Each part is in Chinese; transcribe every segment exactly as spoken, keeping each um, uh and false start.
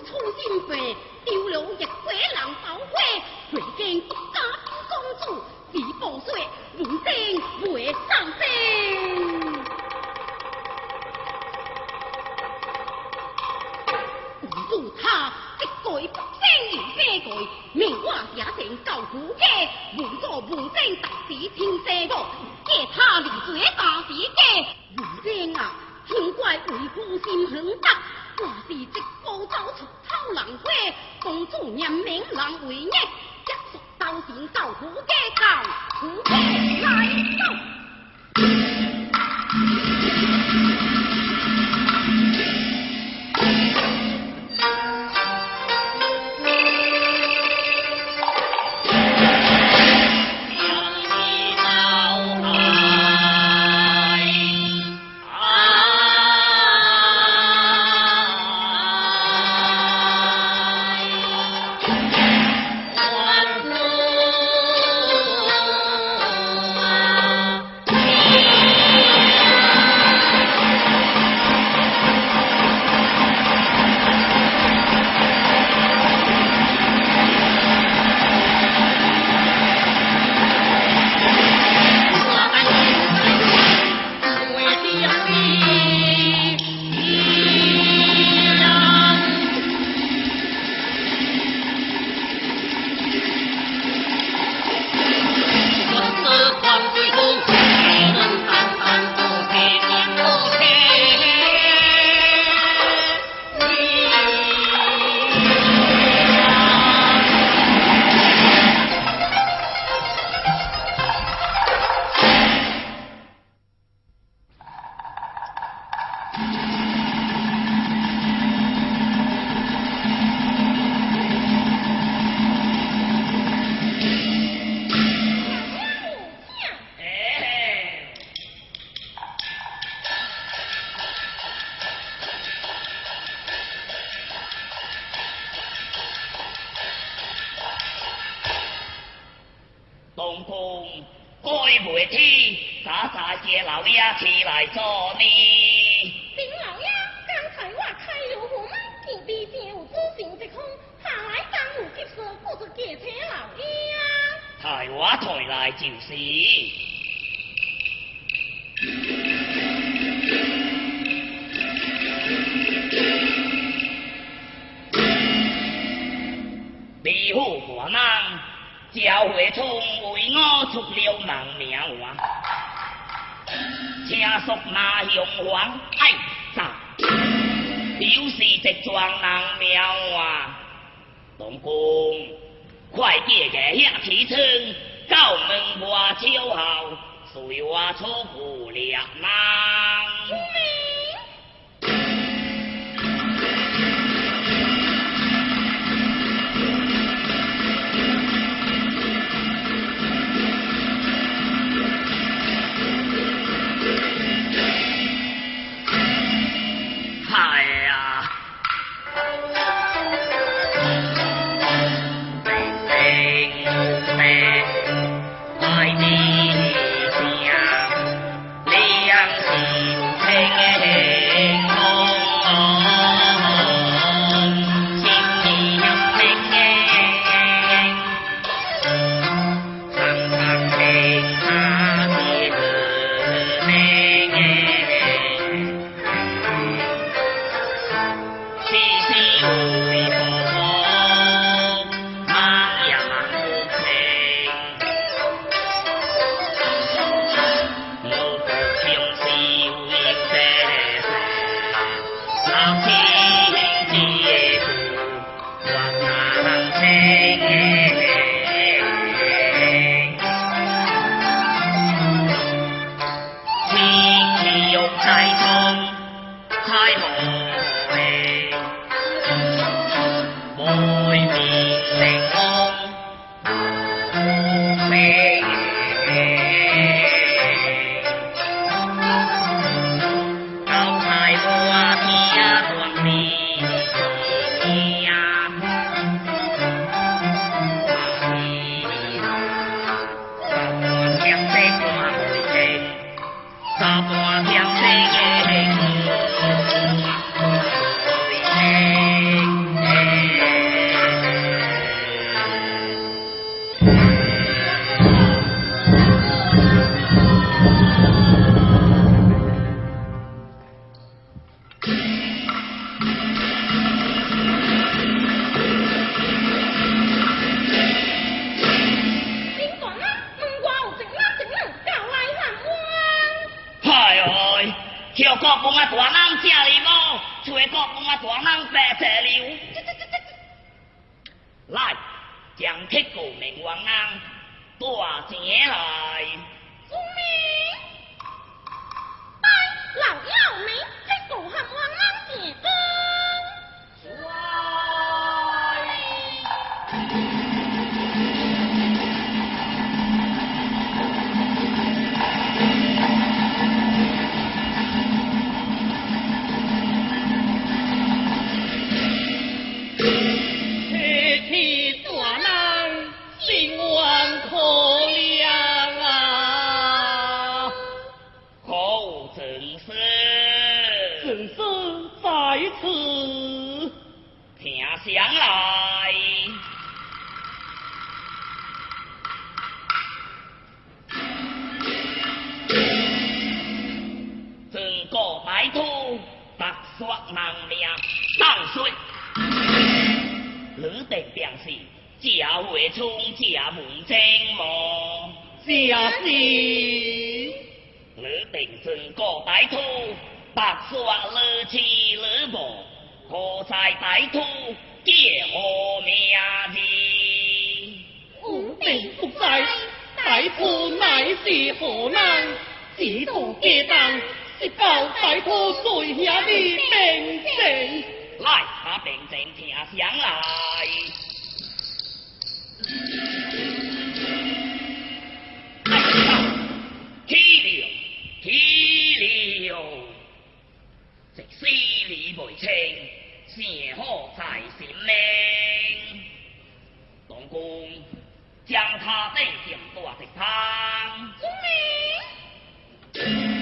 出心肺，丢了一鬼人包围，最近国家公主自报说，无定会上升。公主她一改不生又悲改，命我也成救苦家，无助无正特使天赦我，借他离罪大事家，无正啊！天怪为夫心狠毒，我是直报走出偷人花，公主念名人为孽，结束斗前受苦家教，苦家来走。 公公，该袂天，早早接老爷起来做呢？ 丁老爷，刚才我开了门，见地正有主行一空，下来当有急事，顾着驾车老爷。 抬我抬来就是。李府官人赵惠聪为我出了人命案，请属马雄王爱杀，就是一桩人命案。公公，快借个遐提称，到门外朝后，随我出府猎人。 公啊大人吃哩无？吹国公啊大人白切流。来，将铁骨明王人带前来。 聪明，拜老妖明，铁骨和王人结婚。 听上来，整个歹徒白刷人命当水，你定便是假会冲假门精魔， 假是你定整个歹徒白刷你痴你无。何在歹徒叫何名字？ 吾定不知，歹徒乃是何人？只图借当，是教歹徒罪下的病症。 来，把病症听上来。起了，起了，这死理未清。幸好在心命，东宫将他带进大食堂。 聪明。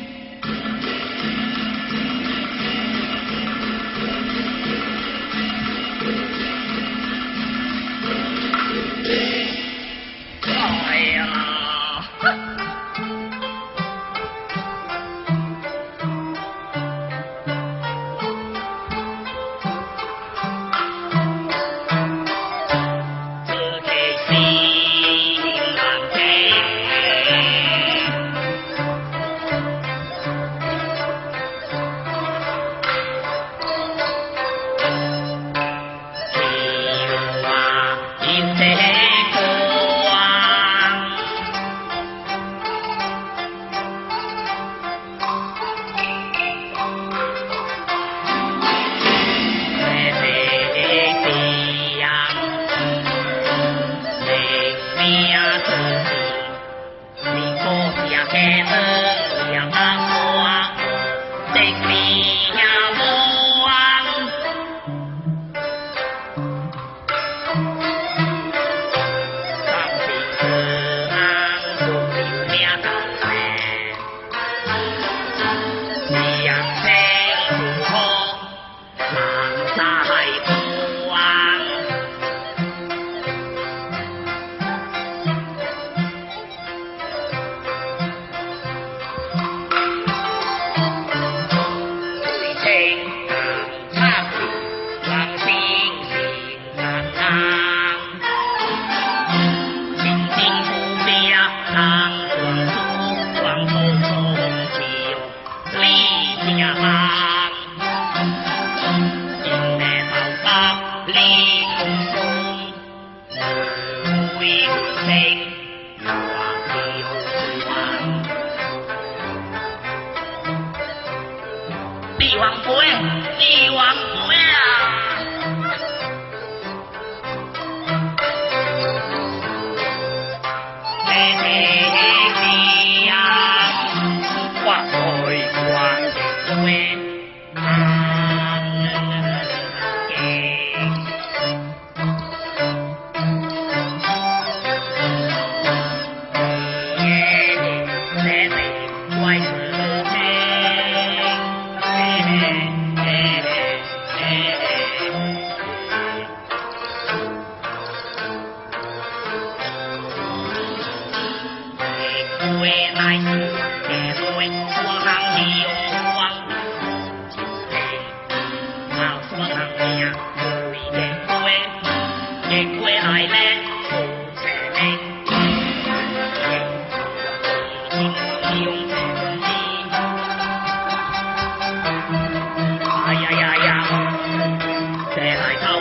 哎呀！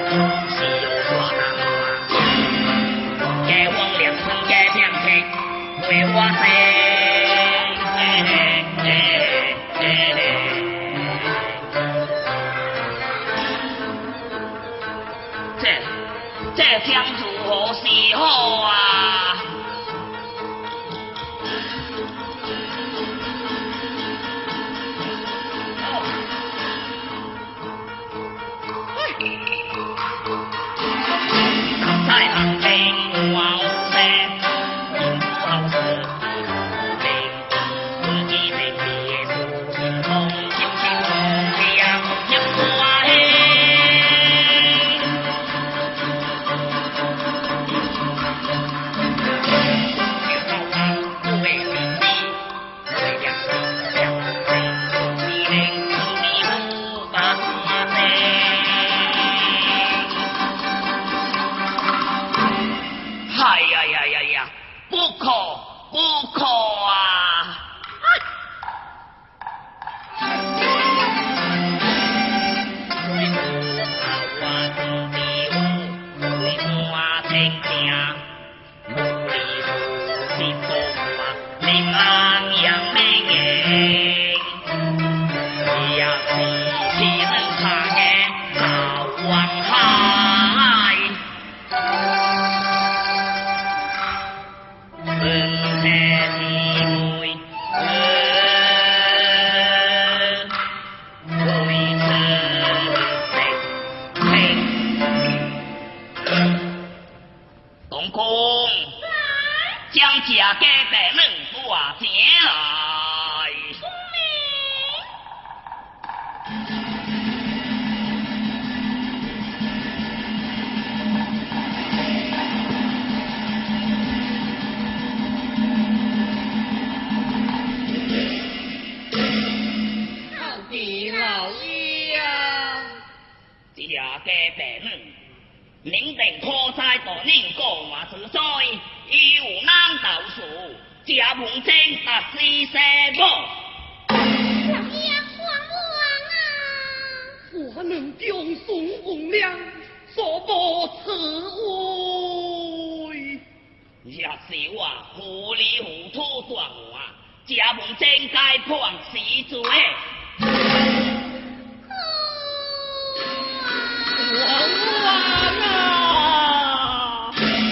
是有大人啊，家风良村家偏僻，为我生。这这将如何是好啊？在旁边我有些，因不好事，自己在别处心痛，心情不一样，也不啊嘿。哎呀呀呀呀！不可不可啊！水母头啊，中地虎，水母啊，正正，无厘头是多啊，林安阳明眼，也是是能看见老王海。生车姊妹，为此东宫将家家的嫩瓜捡来。家白嫩，宁定可在大宁国外之灾，已有难道数，家门正达四舍母。 老爷皇王啊！ 我能将宋红娘所报此位， 也是我糊里糊涂断话，家门正该判死罪。 王王啊！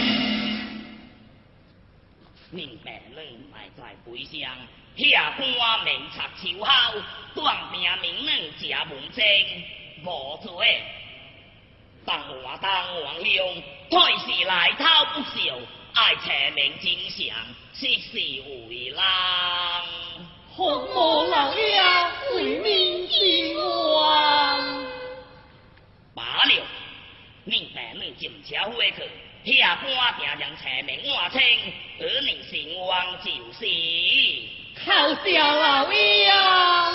宁白嫩埋在背上，下官明察秋后，断命明嫩家门正无罪。当我当王兄，退时来头不孝，爱查明真相，实是为人。 红毛老爷为民尽王。 罢了，宁白嫩进车回去，下官定将查明换清，而你成王就是。 靠下老爷啊！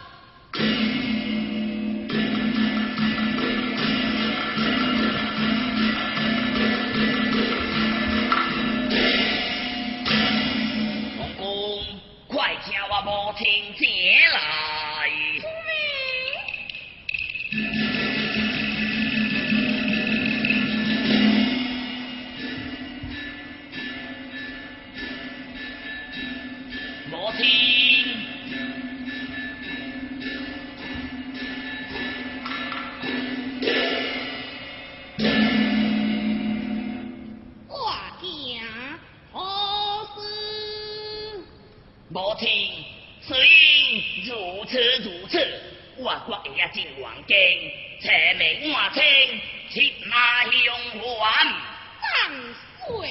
公公，快请我母亲姐来。母亲， 我家何事？ 母亲，虽然如此如此，我却也进王宫，查明换清，切马相还。 万岁！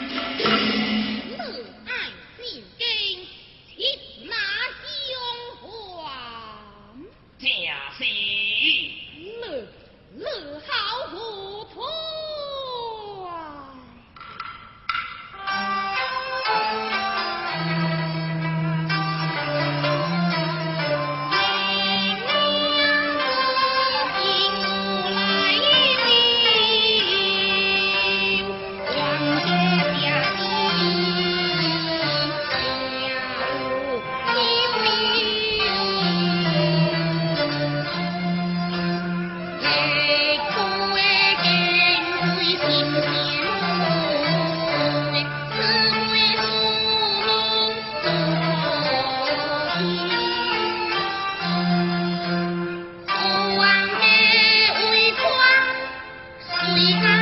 乐爱进京，切马相还。 正是。 乐乐好糊涂啊！来为安。